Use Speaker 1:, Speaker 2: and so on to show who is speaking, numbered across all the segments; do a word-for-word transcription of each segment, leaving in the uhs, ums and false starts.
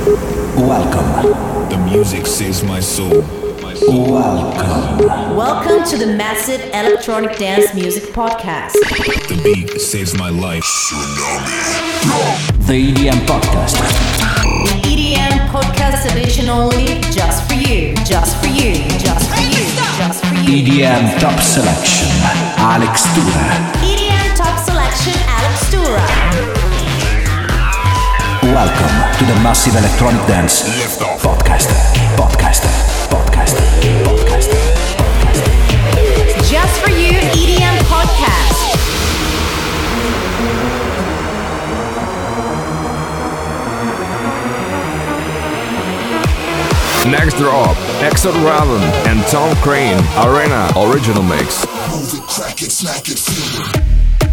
Speaker 1: Welcome.
Speaker 2: The music saves my soul. My soul.
Speaker 1: Welcome.
Speaker 3: Welcome to the Massive Electronic Dance Music Podcast.
Speaker 2: The beat saves my life.
Speaker 1: The E D M Podcast.
Speaker 3: The E D M Podcast edition only, just for you, just for you, just for you, just for you.
Speaker 1: E D M Top Selection. Alex Tura.
Speaker 3: E D M Top Selection, Alex Tura.
Speaker 1: Welcome to the Massive Electronic Dance Podcast. Podcast. Podcast. Podcast. Podcast.
Speaker 3: Just for you, E D M Podcast.
Speaker 4: Next drop, Exod Raven and Tom Crane, Arena Original Mix.
Speaker 5: Move it, crack it, smack it, feel it.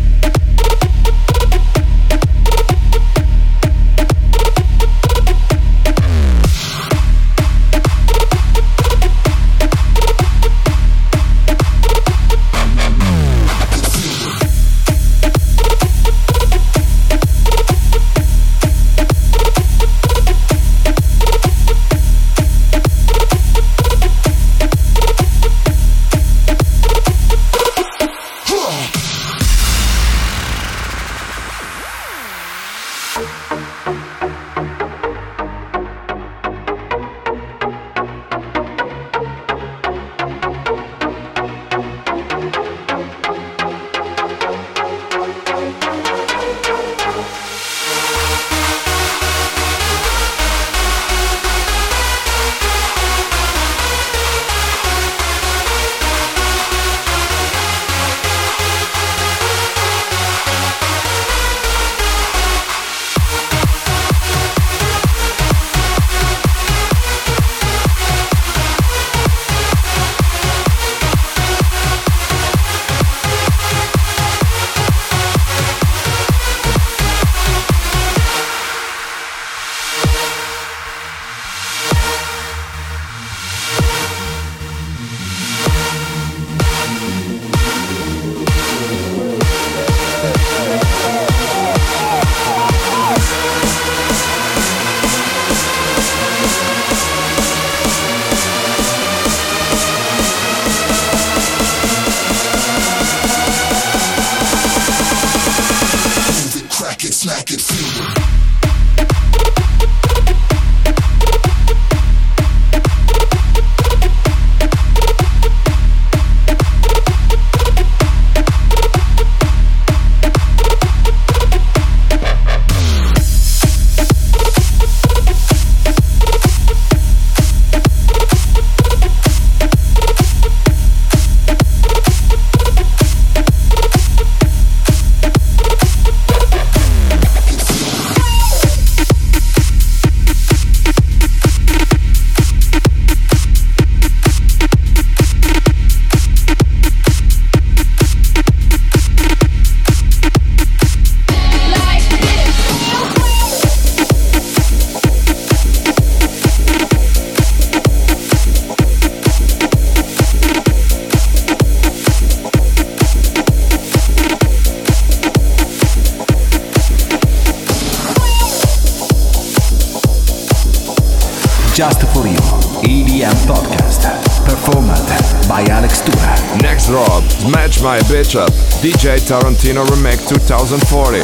Speaker 1: Just for you, E D M Podcast, performed by Alex Tura.
Speaker 4: Next drop, Smash My Bitch Up, D J Tarantino Remake twenty forty.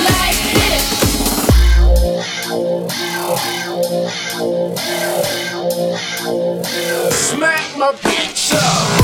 Speaker 5: Smack my bitch up.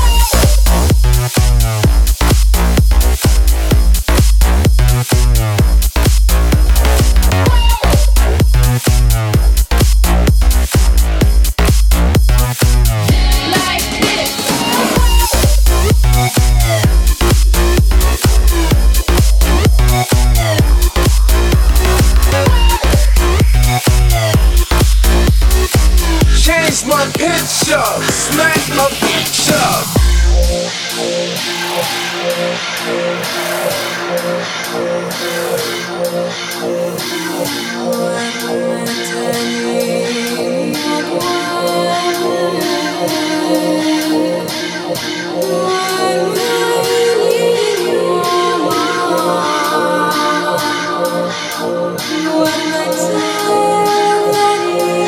Speaker 5: Change my pitch up, smack my bitch up. When the time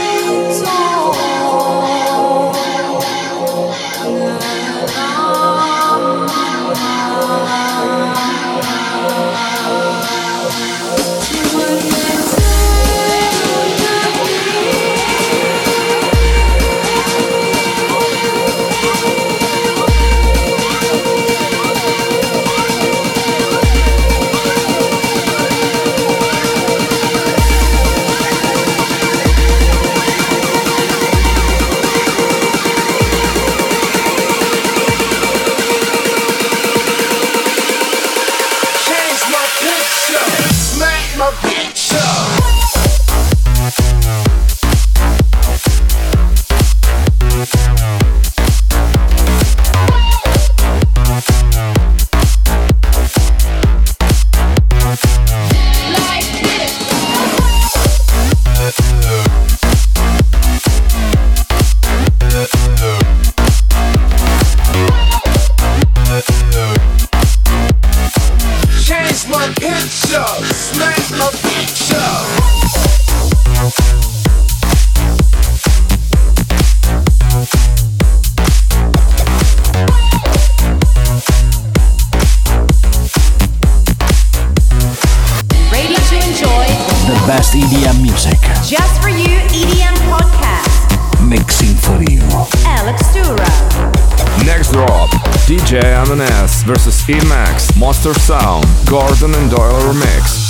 Speaker 1: Best E D M music.
Speaker 3: Just for you, E D M podcast.
Speaker 1: Mixing for you.
Speaker 3: Alex Dura.
Speaker 4: Next drop, D J M and S versus E-Max, Monster Sound, Gordon and Doyle remix.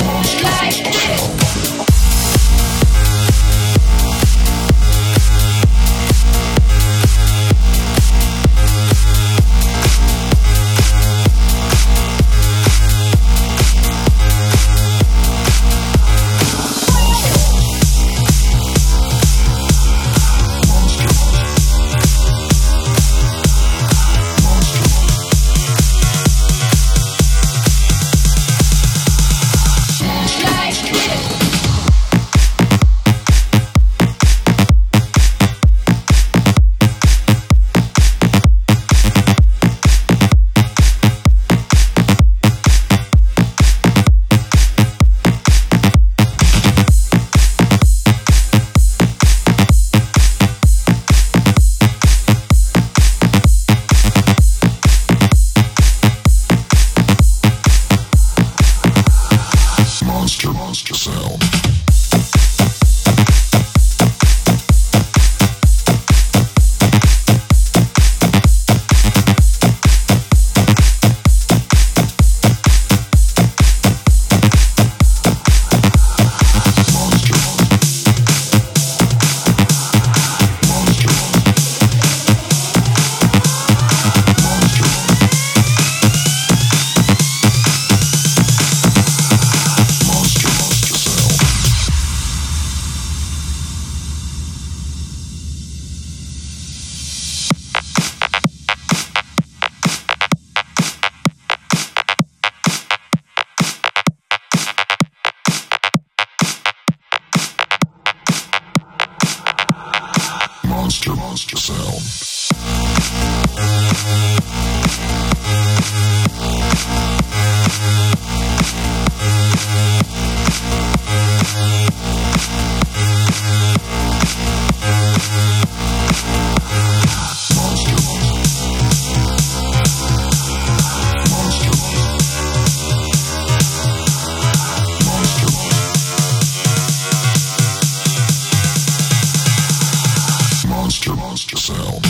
Speaker 2: Monster, monster sound. Monster, monster sound.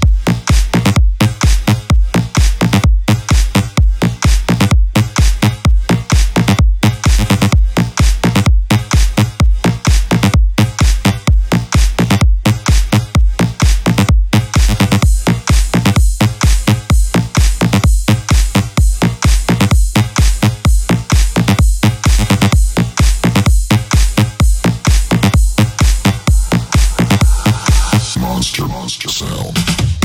Speaker 2: Monster, monster sound.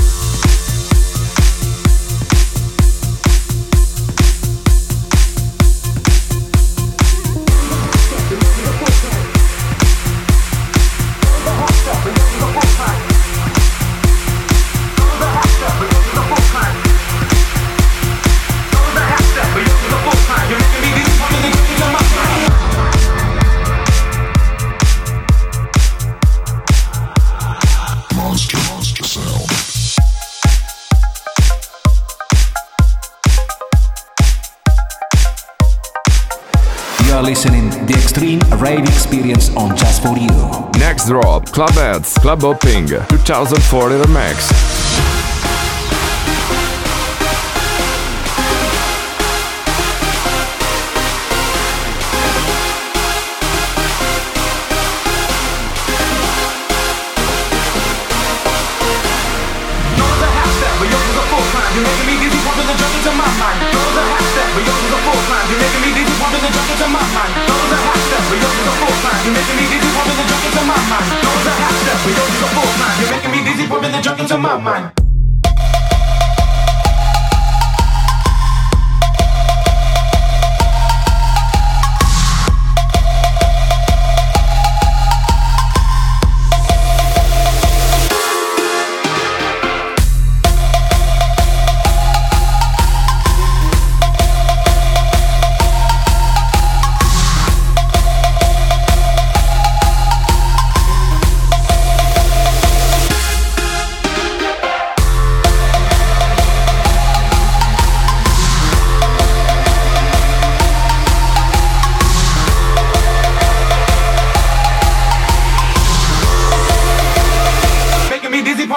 Speaker 2: Monster, monster sound.
Speaker 1: You are listening the Extreme Rave Experience on Just for You.
Speaker 4: Next drop, Club Heads, Club Hopping, twenty forty remix.
Speaker 5: You're making me dizzy, pumping the junk into my mind. Those are half step, but yours is a full climb. You're making me dizzy, pumping the junk into my mind. Those are half step, but yours is a full climb. You're making me dizzy, pumping the junk into my mind. Those are half step, but yours is a full climb. You're making me dizzy, pumping the junk into my mind.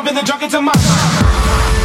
Speaker 5: pumping the drunk into my mind.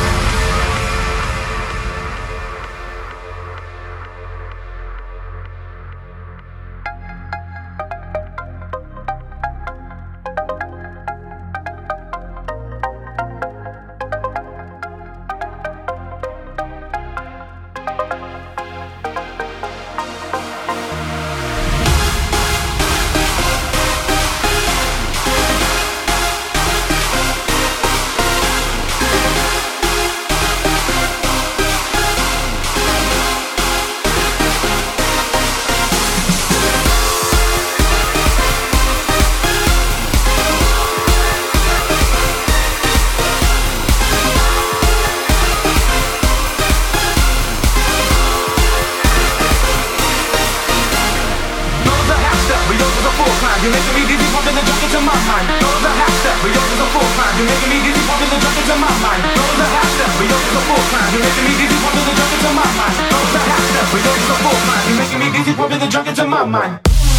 Speaker 5: You're making me dizzy, pumping the drunk into my mind. Goes a half step, but yours is a full climb. You're making me dizzy, pumping the drunk into my mind. Goes a half step, but yours is a full climb. You're making me dizzy, pumping the drunk into my mind. Goes a half step, but yours is a full climb. You're making me dizzy, pumping the drunk into my mind.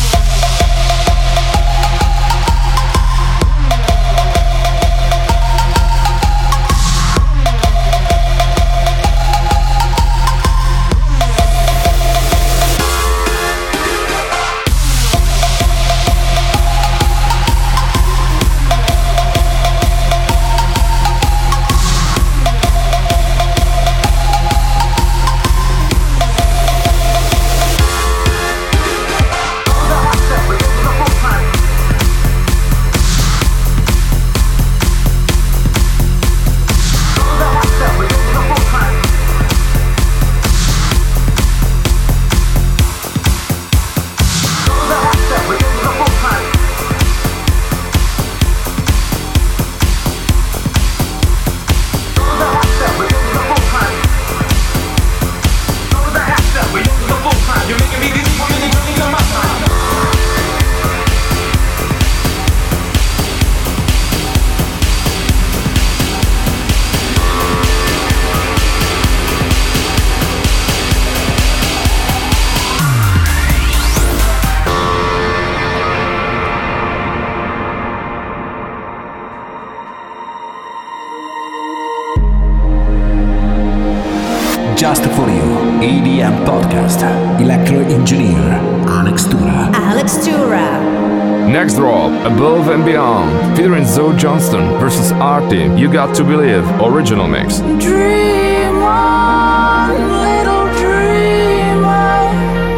Speaker 1: Just for you, E D M Podcast. Electro Engineer, Alex Tura.
Speaker 3: Alex Tura.
Speaker 4: Next drop, Above and Beyond, featuring Zoe Johnston versus Artie, You Got to Believe, original mix.
Speaker 6: Dream on, little dreamer.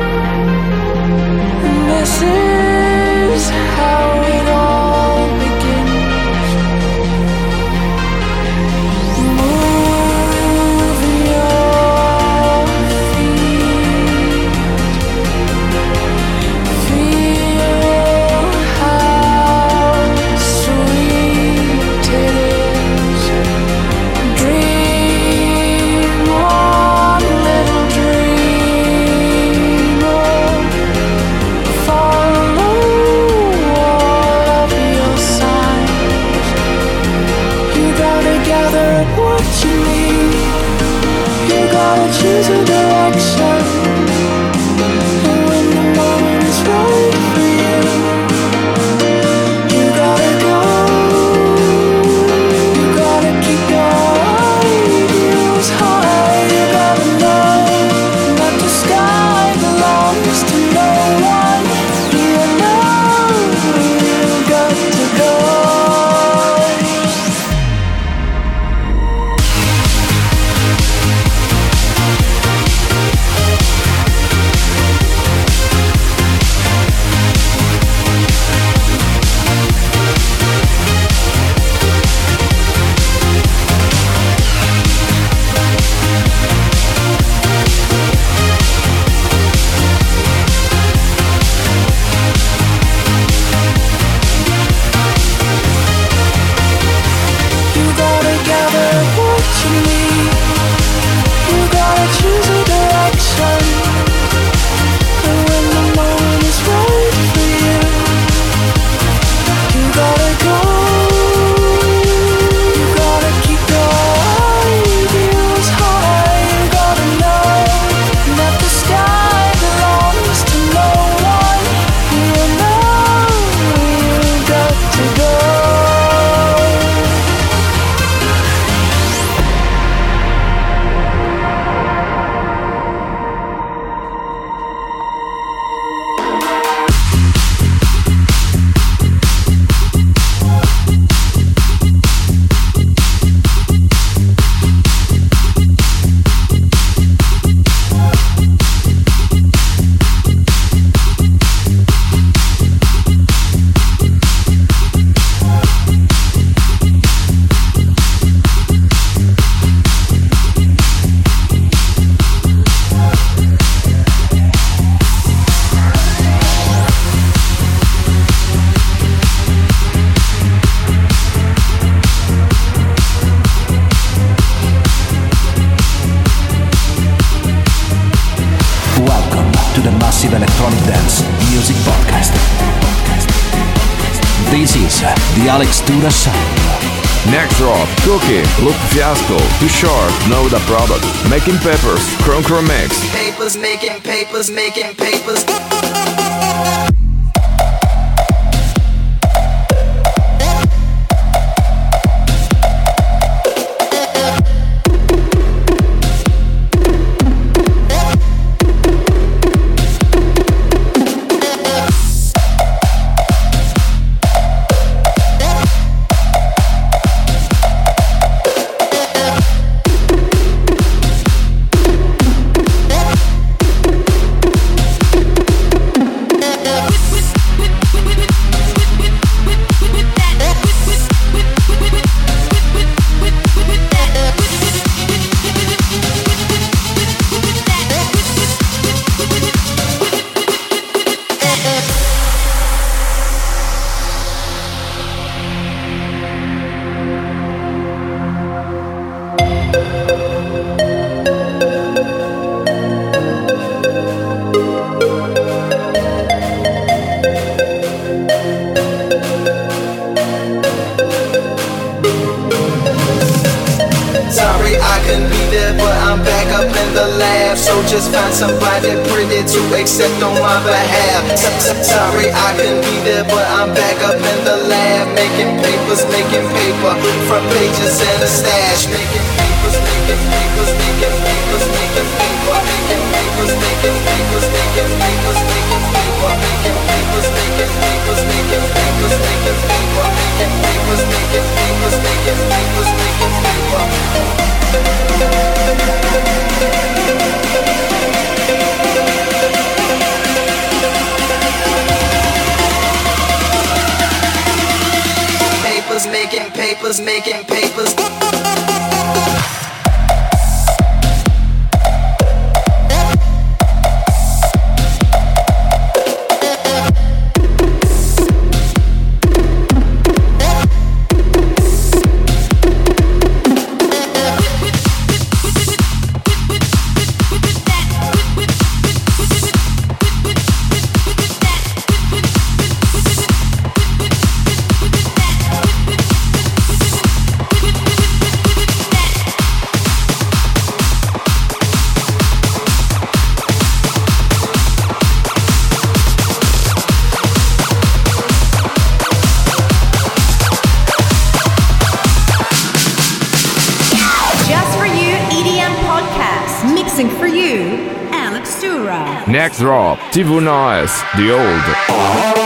Speaker 6: This is how it all begins. Move your feet. Feel how sweet it is. Dream on, little dreamer. Follow all of your signs. You gotta gather up what you need. You gotta choose a direction. And when the moment is right for you, you gotta go. You gotta keep your ideals high. You gotta know that the sky belongs to no one. You know you got to go.
Speaker 1: This is the Alex Tura sound.
Speaker 4: Next drop, Cookie, Loop Fiasco, Too Short, Know the Product, Making Papers, Chrome Chrome Mix.
Speaker 7: Papers, making papers, making papers. Just find somebody pretty to accept on my behalf. Sorry I couldn't be there, but I'm back up in the lab, making papers, making paper, front pages and a stash. Making papers, making papers, making papers, making paper, making papers, making papers, making papers, making paper, making papers, making papers, making papers, making paper, making papers, making papers, making papers, making paper. Papers, making papers, making papers.
Speaker 4: Next drop, T V Noise, The Old.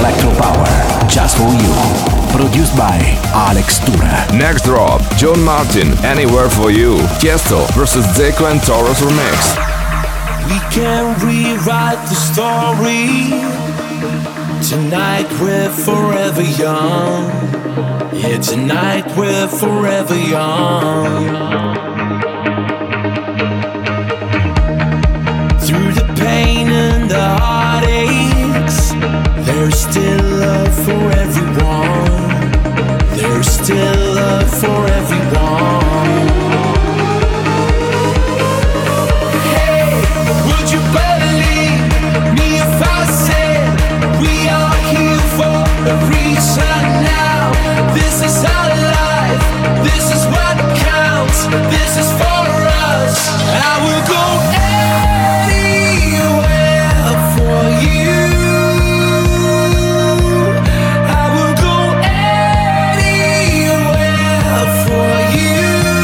Speaker 1: Electro Power, just for you. Produced by Alex Tura.
Speaker 4: Next drop, John Martin, Anywhere for You. Tiesto versus Zeko and Taurus remix.
Speaker 8: We can rewrite the story. Tonight we're forever young. Yeah, tonight we're forever young. Through the pain and the heartaches, there's still love for everyone. There's still love for everyone. Hey, would you believe me if I said we are here for a reason now? This is our life, this is what counts, this is for us. I will go anywhere for you. I will go anywhere for you.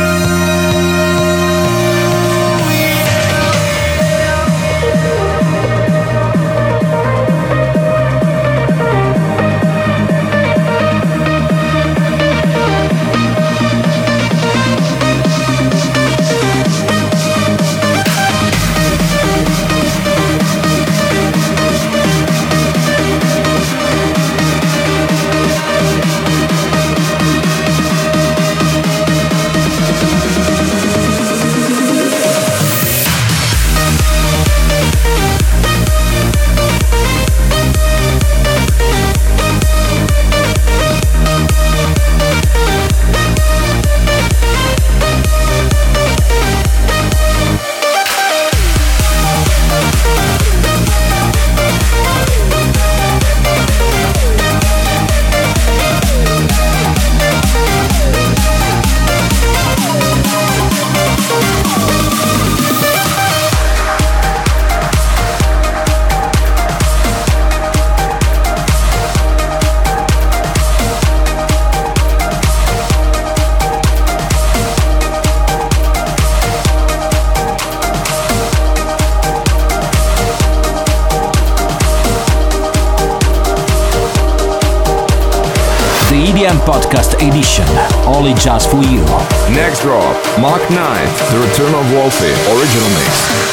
Speaker 1: E D M Podcast Edition, only just for you.
Speaker 4: Next drop, Mark nine, The Return of Wolfie, original mix.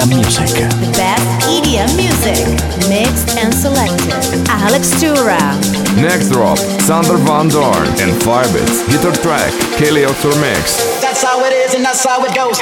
Speaker 1: M music.
Speaker 3: The best E D M music, mixed and selected. Alex Tura.
Speaker 4: Next drop, Sander Van Doorn and Firebits, guitar track, Kelly Oxford Mix.
Speaker 7: That's how it is and that's how it goes.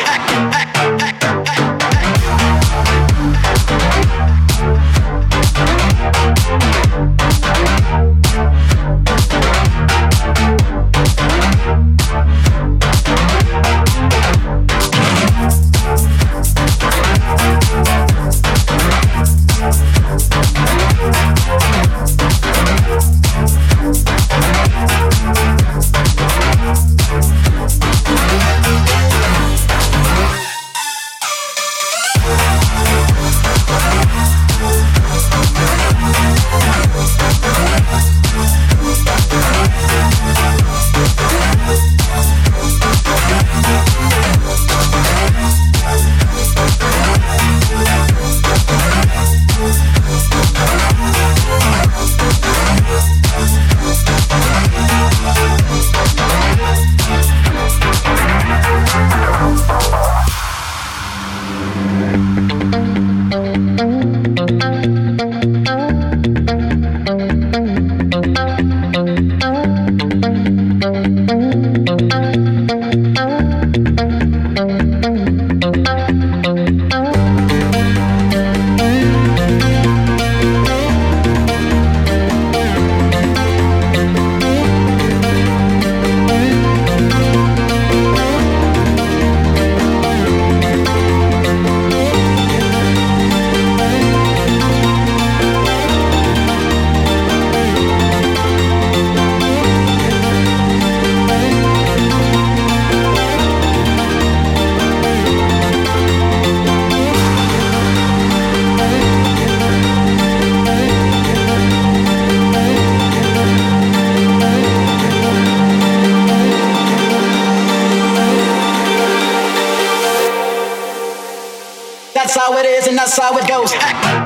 Speaker 7: That's how it is and that's how it goes.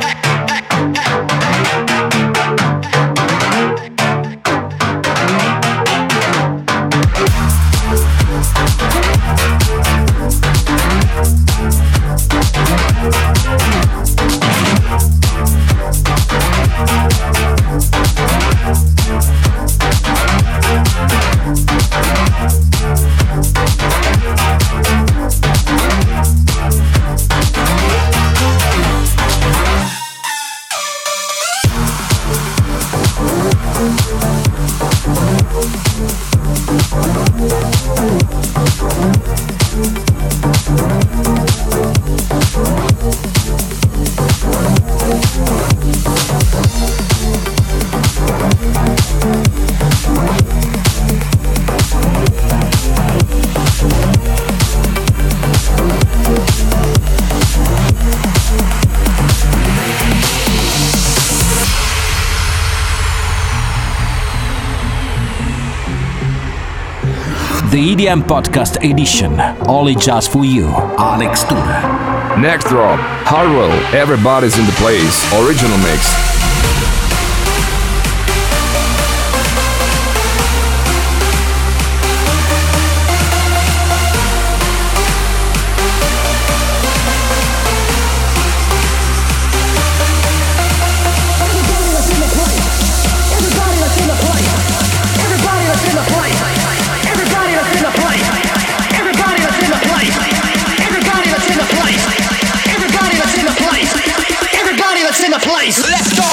Speaker 1: The E D M Podcast Edition, only just for you, Alex Tura.
Speaker 4: Next drop, Harwell, Everybody's in the Place, original mix.
Speaker 8: Let's go!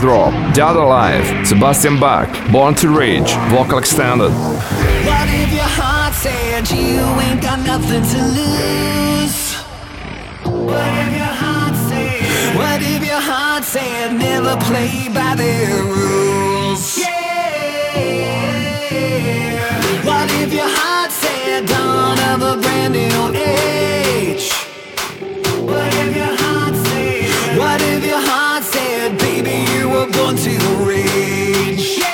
Speaker 4: Next drop, Dada Life, Sebastian Bach, Born to Rage, vocal extended.
Speaker 8: What if your heart said you ain't got nothing to lose? What if your heart said? What if your heart said never play by their rules? Yeah. What if your heart said dawn of a brand new age? What if your heart said? What if your heart said, baby, you were born to rage? Yeah.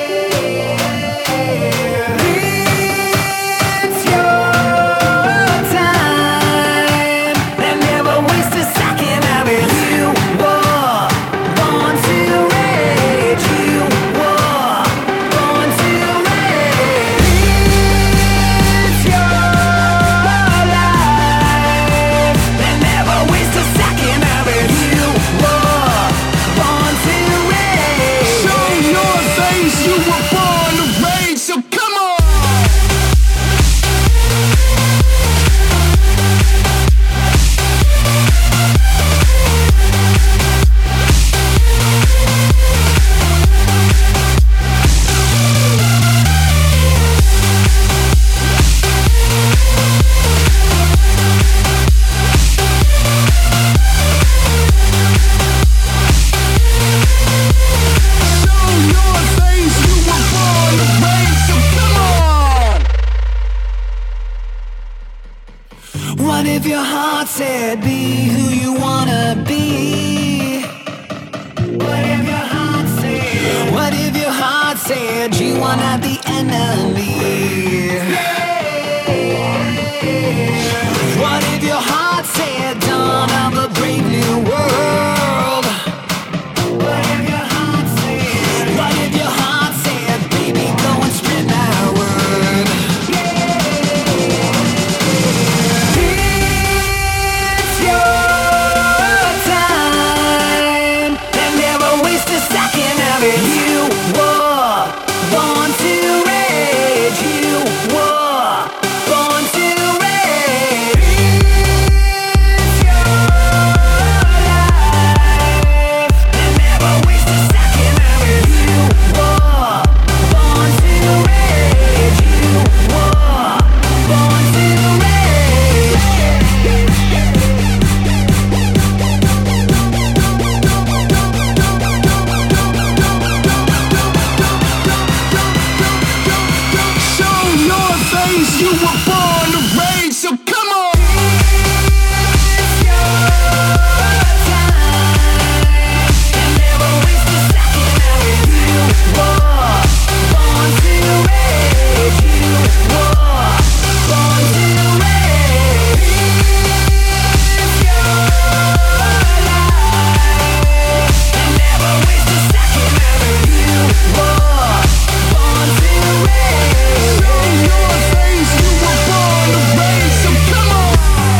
Speaker 8: It's your time, and never waste a second of it. You were born to rage. You were born to rage. It's your life, and never waste a second of it. You were born to rage. Show your face, you were born to rage. So come on. What if your heart said be who you wanna be? What if your heart said? What if your heart said you are not the enemy? What if your heart said dawn of a brave new world? What if your heart said? What if your heart said, baby, go and spread my word? It's your time, and never waste a second of it. You were born to rage. You were born to rage. It's your life, and never waste a second of it. You were born to rage. You were born to rage. Show your face, you were born to rage, so come on! It's your time, and never waste a second of it. You were born to rage. You were born to rage. It's your life, and never waste a second of it. You were born to rage. Show your face, you were born to rage, so come on!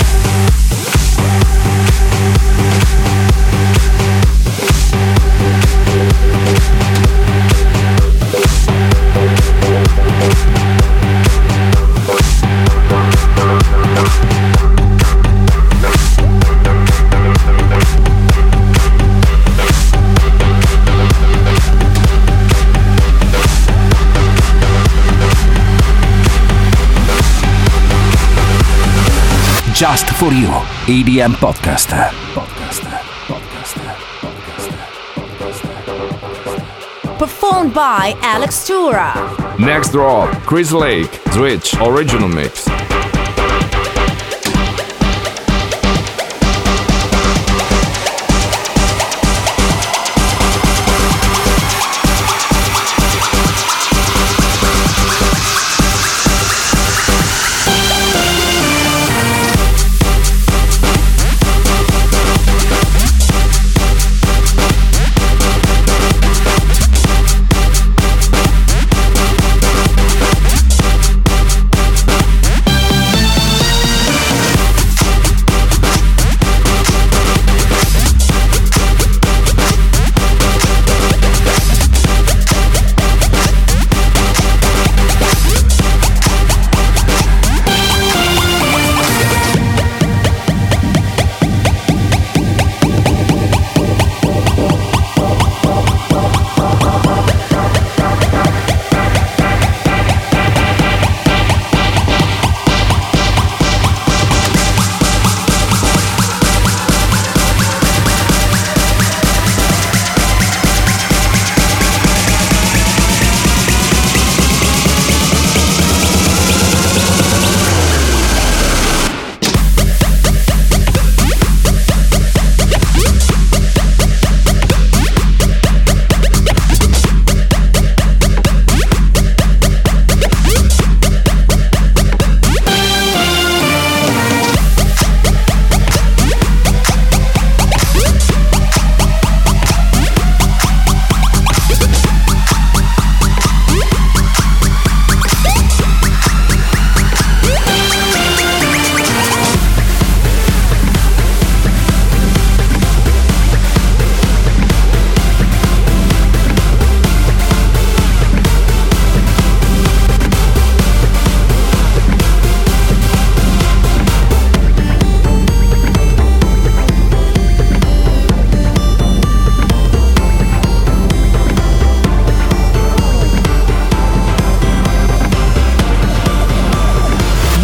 Speaker 1: Just for You, E D M Podcast. Podcast. Podcast. Podcast.
Speaker 3: Performed by Alex Tura.
Speaker 4: Next drop, Chris Lake, Switch, original mix.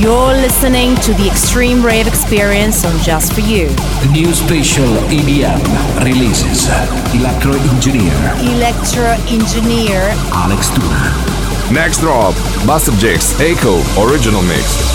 Speaker 3: You're listening to the Extreme Rave Experience on Just For You.
Speaker 1: New special E D M releases. Electro Engineer.
Speaker 3: Electro Engineer.
Speaker 1: Alex Tuna.
Speaker 4: Next drop, Buster Jigs, Echo, original mix.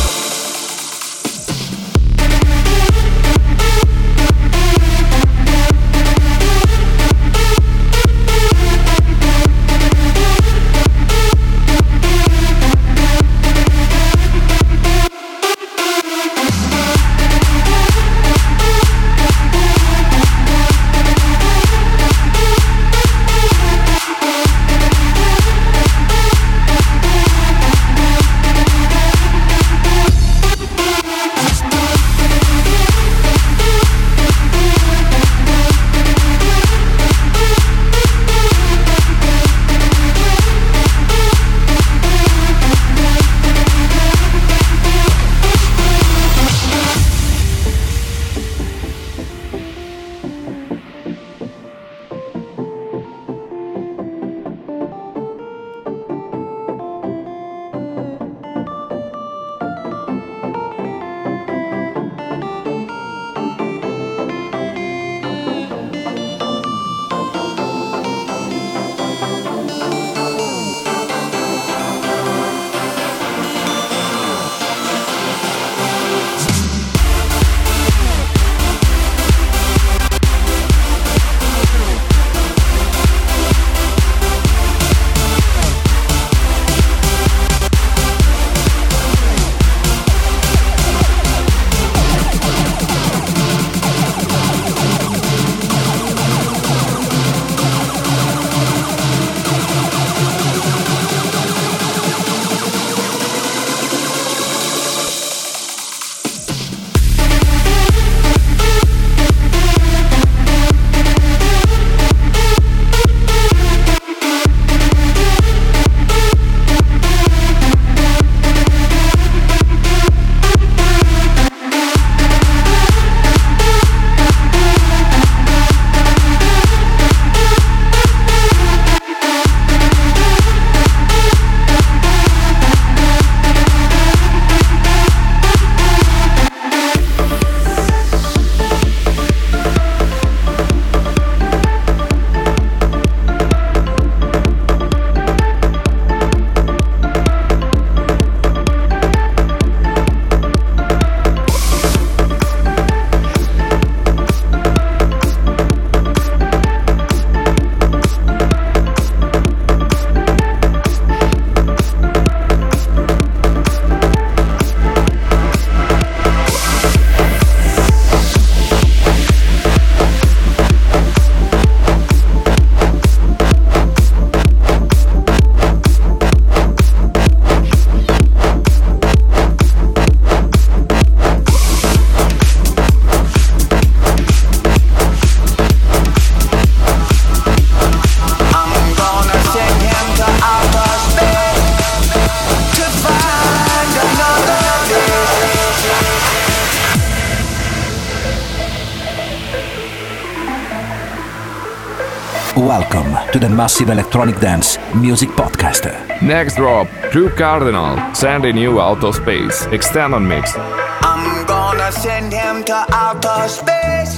Speaker 1: Welcome to the Massive Electronic Dance Music Podcast.
Speaker 4: Next drop, Drew Cardinal, sending you outer space, extended mix.
Speaker 8: I'm gonna send him to outer space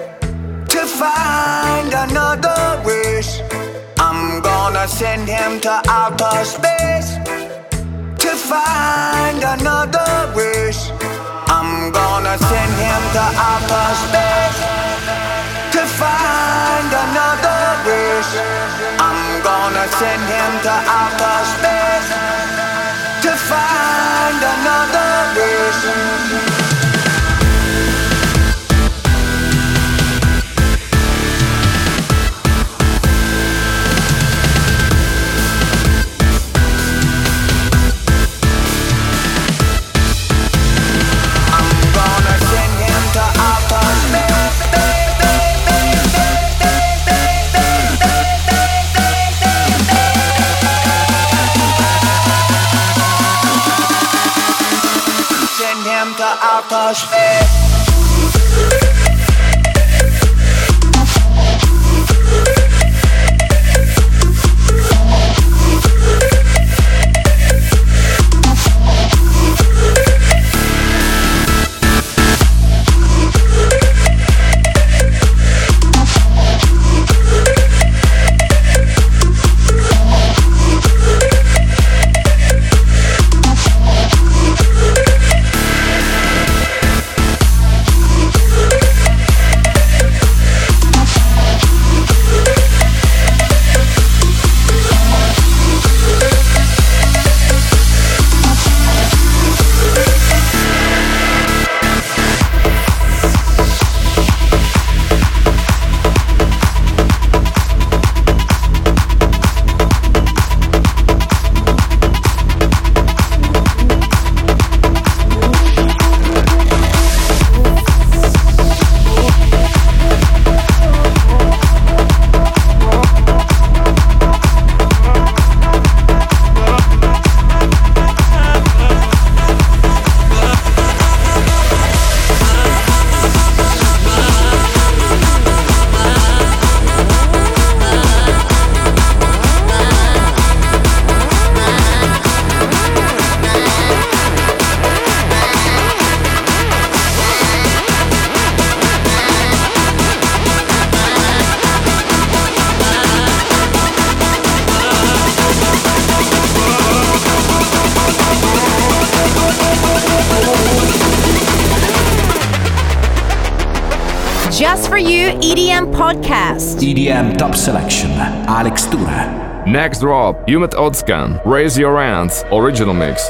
Speaker 8: to find another wish. I'm gonna send him to outer space to find another wish. I'm gonna send him to outer space to find another wish. I'm gonna send him to outer space to find another wish. Outer space.
Speaker 3: Just for You E D M Podcast.
Speaker 1: E D M Top Selection, Alex Tura.
Speaker 4: Next drop, Yumet Otskan, Raise Your Hands, original mix.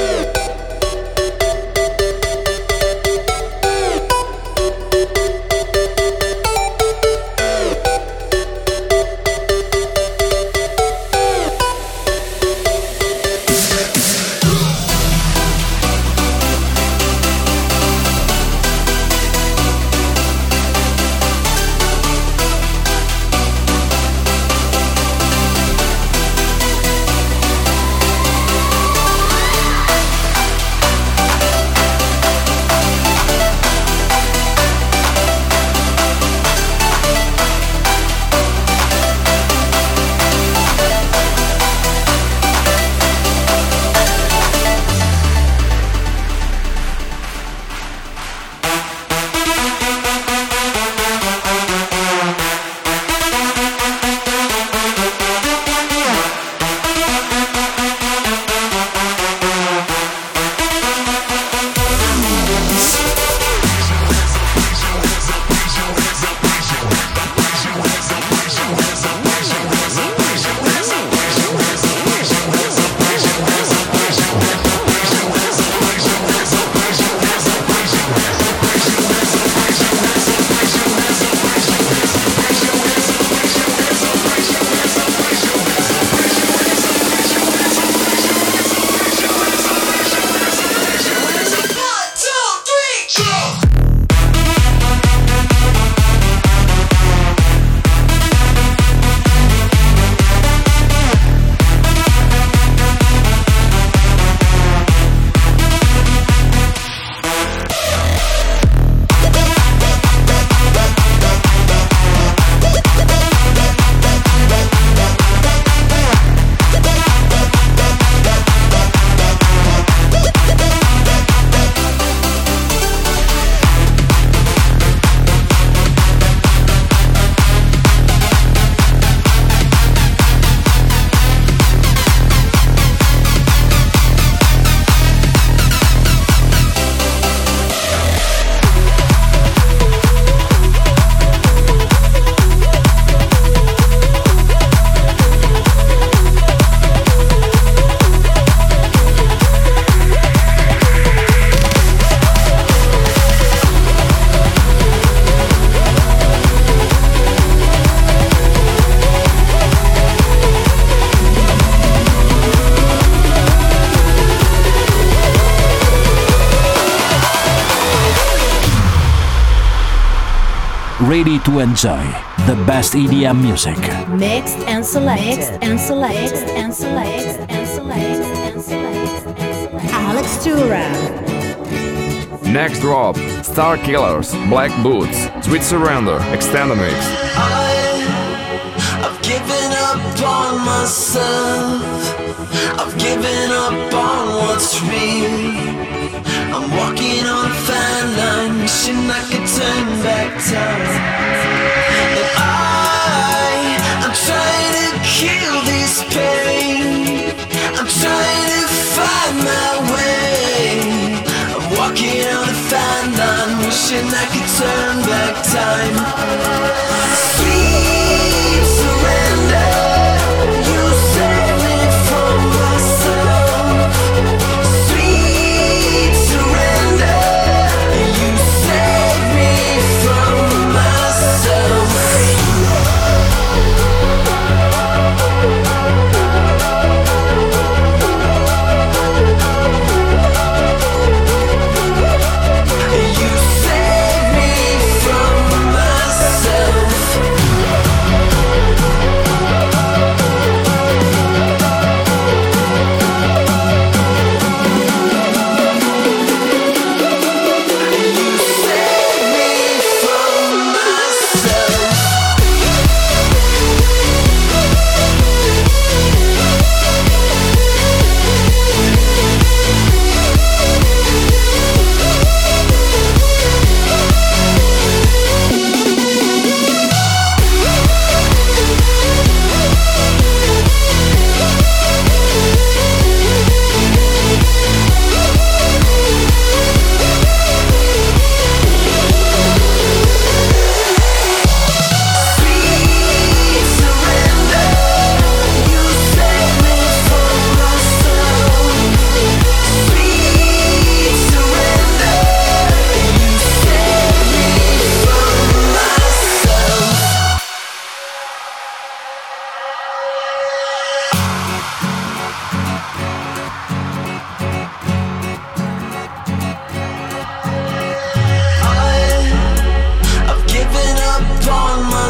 Speaker 1: Ready to enjoy the best E D M music.
Speaker 3: Mixed and selected and selected and selected and selected and selected. Alex Tura.
Speaker 4: Next drop, Star Killers, Black Boots, Sweet Surrender, Extended Mix.
Speaker 8: I, I've given up on myself. I've given up on what's real. I'm walking on a fine line, wishing I could turn back time. And I, I'm trying to kill this pain. I'm trying to find my way. I'm walking on a fine line, wishing I could turn back time. Sweet surrender, you save me from myself. Sweet surrender, you save me from myself. You save me from myself.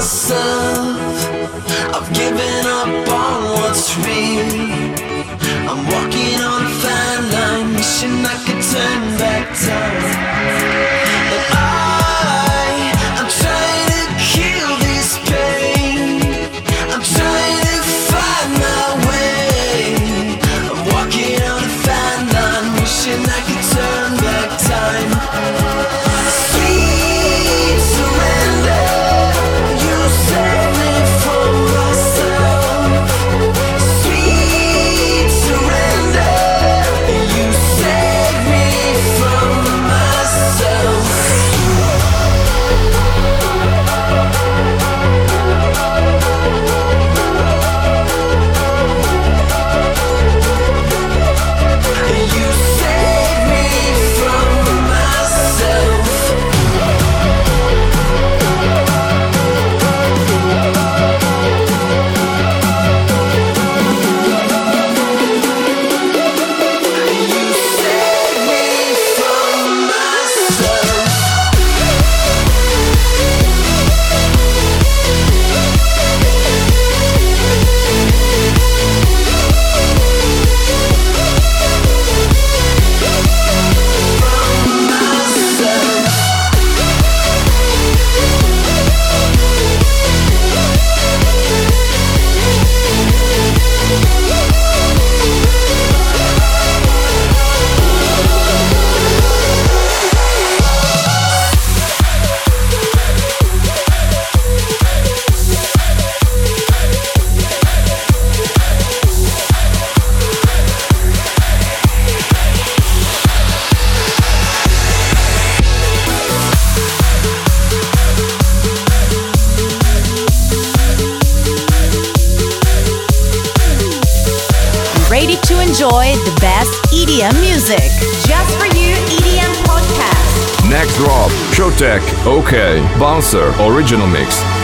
Speaker 8: myself. I've given up on what's real. I'm walking on a fine line, wishing I could turn back time. But I, I'm trying to kill this pain. I'm trying to find my way. I'm walking on a fine line, wishing I could turn back time. Sweet surrender, you save me from myself. Sweet surrender, you save me from myself. You save me from myself. You save me from myself. From myself.
Speaker 3: Ready to enjoy the best E D M music. Just for you, E D M podcast.
Speaker 4: Next drop, Showtech, OK, Bouncer, original mix.